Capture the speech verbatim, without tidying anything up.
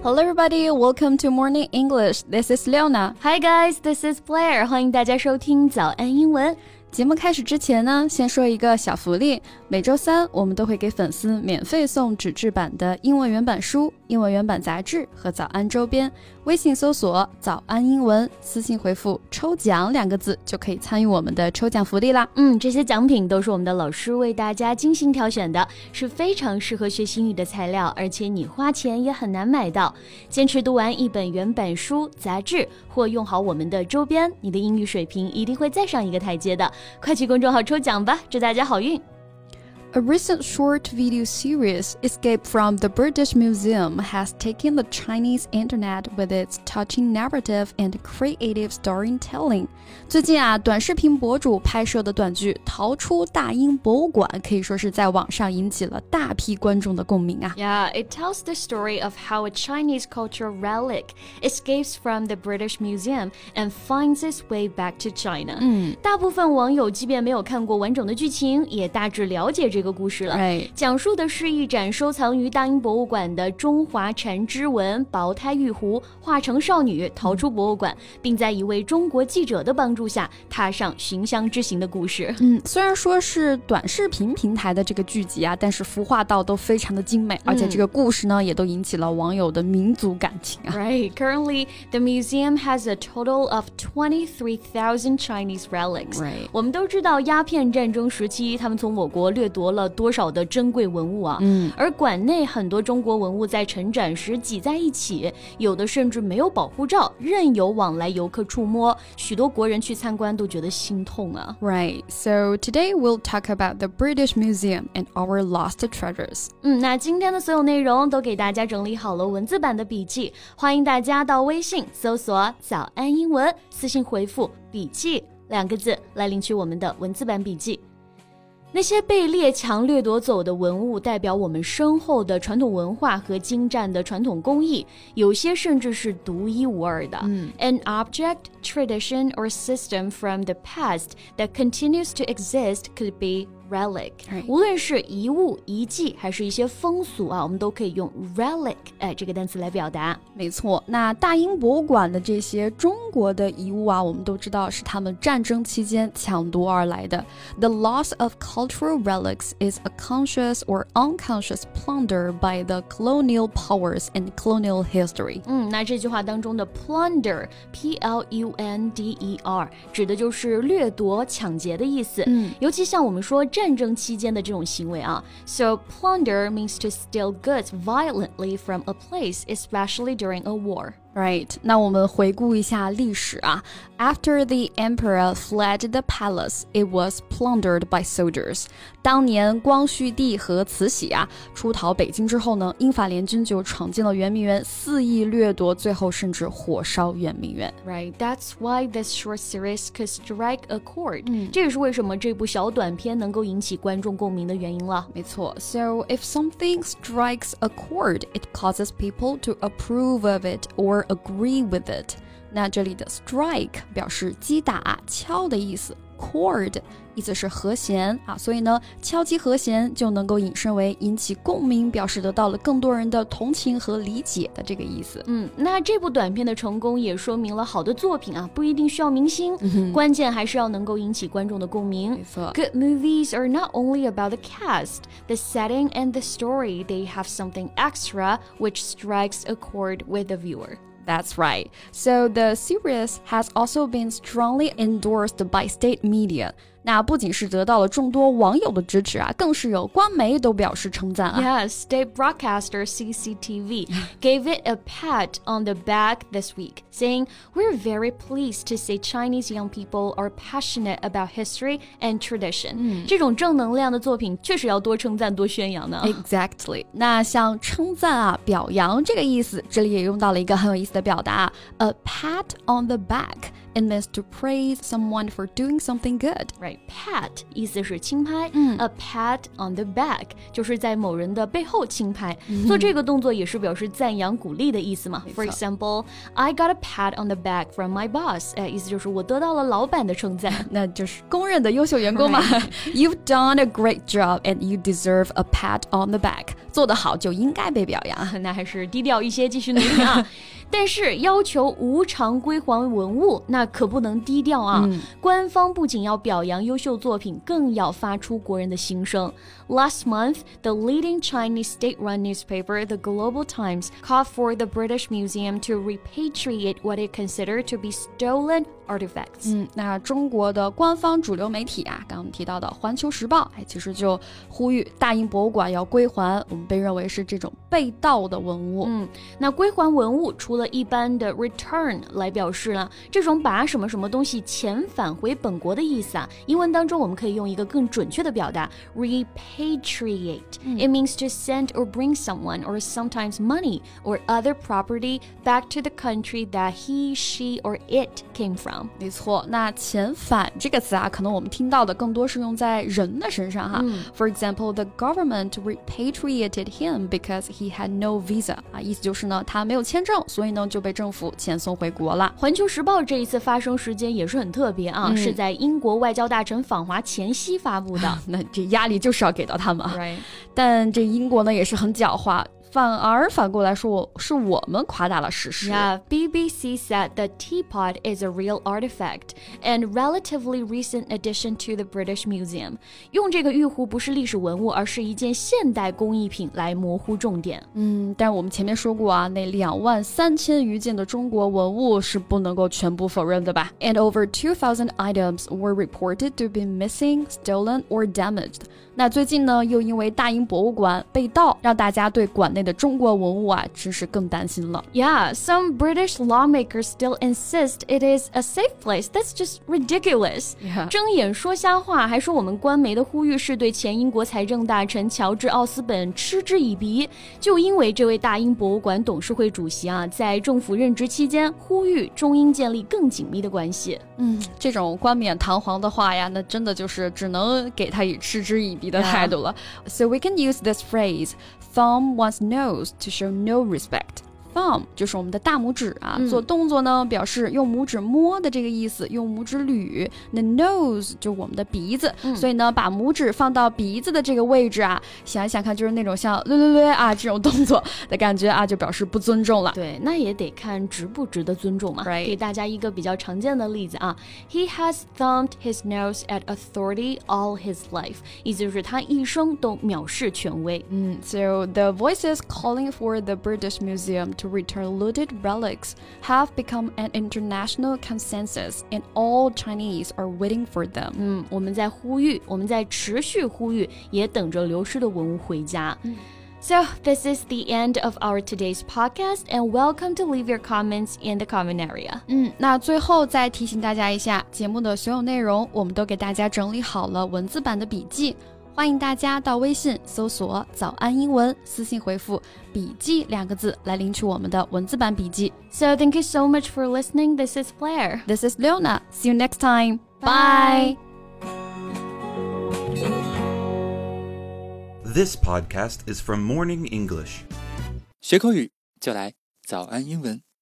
Hello everybody, welcome to Morning English. This is Leona. Hi guys, this is Blair. 欢迎大家收听早安英文。 节目开始之前呢，先说一个小福利。每周三我们都会给粉丝免费送纸质版的英文原版书、英文原版杂志和早安周边。微信搜索早安英文，私信回复抽奖两个字就可以参与我们的抽奖福利啦。 嗯，这些奖品都是我们的老师为大家精心挑选的，是非常适合学习英语的材料，而且你花钱也很难买到。坚持读完一本原版书、杂志或用好我们的周边，你的英语水平一定会再上一个台阶的。快去公众号抽奖吧，祝大家好运。 A recent short video series, Escape from the British Museum, has taken the Chinese internet with its touching narrative and creative storytelling. 最近啊，短视频博主拍摄的短剧《逃出大英博物馆》可以说是在网上引起了大批观众的共鸣啊。 Yeah, it tells the story of how a Chinese cultural relic escapes from the British Museum and finds its way back to China. 嗯， 大部分网友即便没有看过完整的剧情，也大致了解这个故事了。 Right. 讲述的是一展收藏于大英博物馆的中华缠枝纹薄胎玉壶化成少女逃出博物馆，并在一位中国记者的帮助下踏上寻香之行的故事。 嗯，虽然说是短视频平台的这个剧集啊，但是服化道都非常的精美，而且这个故事呢，也都引起了网友的民族感情啊。 Right. Currently, the museum has a total of twenty-three thousand Chinese relics. Right. 我们都知道鸦片战争时期，他们从我国掠夺了多少的珍贵文物啊。 嗯， 而馆内很多中国文物在陈展时挤在一起，有的甚至没有保护罩，任由往来游客触摸，许多国人去参观都觉得心痛啊。 Right. So today we'll talk about the British Museum and our lost treasures. 嗯，那今天的所有内容都给大家整理好了文字版的笔记，欢迎大家到微信搜索早安英文，私信回复笔记两个字来领取我们的文字版笔记。那些被列强掠夺走的文物代表我们深厚的传统文化和精湛的传统工艺，有些甚至是独一无二的。 嗯 An object, tradition, or system from the past that continues to exist could be relic. Right. 无论是遗物、遗迹还是一些风俗啊，我们都可以用 relic 哎这个单词来表达。 没错，那大英博物馆的这些中国的遗物啊，我们都知道是他们战争期间抢夺而来的。The loss of cultural relics is a conscious or unconscious plunder by the colonial powers in colonial history. 嗯，那这句话当中的 plunder, P L U N D E R 指的就是掠夺、抢劫的意思。 嗯， 尤其像我们说战争期间的这种行为啊 So plunder means to steal goods violently from a place, especially during a war. Right. 那我们回顾一下历史啊。After the emperor fled the palace, it was plundered by soldiers. 当年光绪帝和慈禧啊出逃北京之后呢，英法联军就闯进了圆明园，肆意掠夺，最后甚至火烧圆明园。 Right, that's why this short series could strike a chord. 嗯， 这也是为什么这部小短片能够引起观众共鸣的原因了。 没错 So if something strikes a chord, it causes people to approve of it or agree with it. 那这里的 strike 表示击打、敲的意思， chord 意思是和弦啊，所以呢，敲击和弦就能够引申为引起共鸣，表示得到了更多人的同情和理解的这个意思。 嗯，那这部短片的成功也说明了好的作品啊，不一定需要明星， 嗯、 关键还是要能够引起观众的共鸣。 没错 Good movies are not only about the cast, the setting and the story. They have something extra which strikes a chord with the viewer. That's right. So the series has also been strongly endorsed by state media. 那不仅是得到了众多网友的支持啊，更是有官媒都表示称赞啊。 Yes, state broadcaster C C T V gave it a pat on the back this week, saying, "We're very pleased to say Chinese young people are passionate about history and tradition." 这种正能量的作品确实要多称赞多宣扬呢。 Exactly. 那像称赞啊、表扬这个意思，这里也用到了一个很有意思的表达 ，a pat on the back。 It means to praise someone for doing something good. Right, pat 意思是轻拍、 嗯、 A pat on the back 就是在某人的背后轻拍、嗯、做这个动作也是表示赞扬鼓励的意思嘛。 For example, I got a pat on the back from my boss、哎、意思就是我得到了老板的称赞那就是公认的优秀员工嘛。You've done a great job and you deserve a pat on the back. 做得好就应该被表扬。 那还是低调一些，继续努力啊。但是要求无偿归还文物，那可不能低调啊、嗯、官方不仅要表扬优秀作品，更要发出国人的心声。 Last month, the leading Chinese state-run newspaper, The Global Times, called for the British Museum to repatriate what it considered to be stolen artifacts. 嗯，那中国的官方主流媒体啊，刚刚我们提到的《环球时报》，哎，其实就呼吁大英博物馆要归还我们被认为是这种被盗的文物。 嗯，那归还文物除了一般的 return 来表示呢，这种把什么什么东西遣返回本国的意思啊，英文当中我们可以用一个更准确的表达 repatriate、嗯、It means to send or bring someone or sometimes money or other property back to the country that he, she or it came from. 没错，那遣返这个词啊，可能我们听到的更多是用在人的身上哈、嗯、For example, the government repatriated him because he had no visa 啊，意思就是呢，他没有签证，所以呢就被政府遣送回国了。 环球时报这一次发生时间也是很特别啊、嗯、是在英国外交大臣访华前夕发布的那这压力就是要给到他们、 right. 但这英国呢也是很狡猾，反而反过来说是我们夸大了事实。 Yeah, B B C said the teapot is a real artifact and relatively recent addition to the British Museum. 用这个玉壶不是历史文物，而是一件现代工艺品来模糊重点。 嗯，但我们前面说过啊，那两万三千余件的中国文物是不能够全部否认的吧？ And over two thousand items were reported to be missing, stolen or damaged. 那最近呢，又因为大英博物馆被盗，让大家对馆内的中国文物啊，真是更担心了。 Yeah, some British lawmakers still insist it is a safe place. That's just ridiculous. Yeah. 睁眼说瞎话，还说我们官媒的呼吁是对前英国财政大臣乔治·奥斯本嗤之以鼻。就因为这位大英博物馆董事会主席啊，在政府任职期间呼吁中英建立更紧密的关系。 嗯，这种冠冕堂皇的话呀，那真的就是只能给他以嗤之以鼻的态度了。Yeah. So we can use this phrase, thumb one's nose to show no respect. Thumb 就是我们的大拇指啊、嗯、做动作呢表示用拇指摸的这个意思，用拇指捋。那 nose 就是我们的鼻子、嗯、所以呢把拇指放到鼻子的这个位置啊，想一想看，就是那种像略略略啊这种动作的感觉啊，就表示不尊重了。 对，那也得看值不值得尊重嘛。 Right. 给大家一个比较常见的例子啊 He has thumbed his nose at authority all his life. 意思就是他一生都藐视权威。 嗯 So the voices calling for the British Museum to return looted relics have become an international consensus and all Chinese are waiting for them. 嗯，我们在呼吁，我们在持续呼吁，也等着流失的文物回家。嗯So, this is the end of our today's podcast, and welcome to leave your comments in the comment area. 嗯，那最后再提醒大家一下，节目的所有内容我们都给大家整理好了文字版的笔记，欢迎大家到微信搜索早安英文，私信回复笔记两个字来领取我们的文字版笔记。 So, thank you so much for listening. This is Blair. This is Leona. See you next time. Bye. This podcast is from Morning English. 学口语就来早安英文。